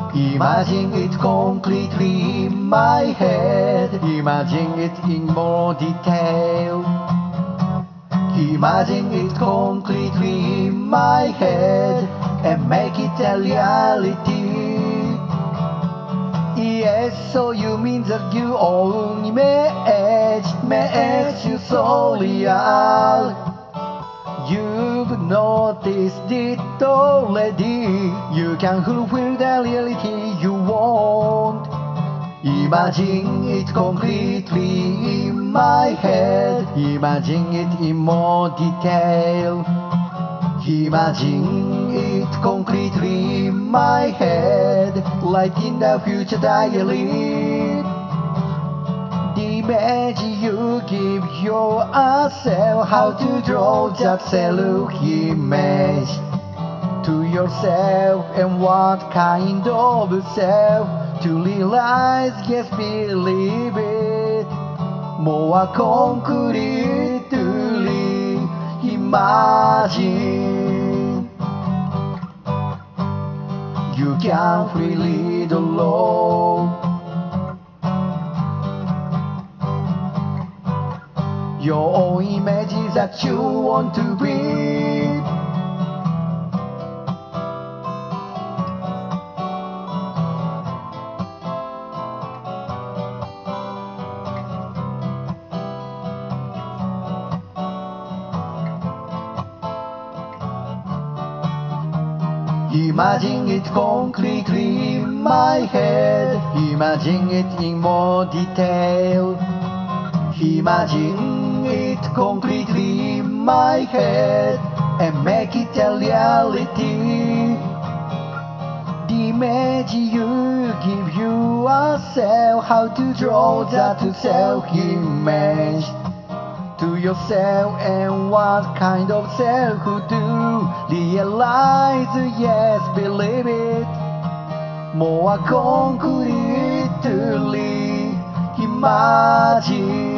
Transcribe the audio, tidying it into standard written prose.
Imagine it concretely in my head. Imagine it in more detail. Imagine it concretely in my head and make it a reality. Yes, so you mean that you only makes you so real. You've noticed it already. You can fulfill the reality you want. Imagine it concretely in my head. Imagine it in more detail. Imagine it concretely in my head, like in the future diary. The image you give yourself, how to draw that self-image to yourself, and what kind of self to realize, yes, believe it. More concretely imagine. You can freely draw your own images that you want to be. Imagine it concretely in my head. Imagine it in more detail. Imagine it concretely in my head and make it a reality. The image you give yourself, how to draw that self-image to yourself, and what kind of self to realize, yes, believe it. More concretely imagine.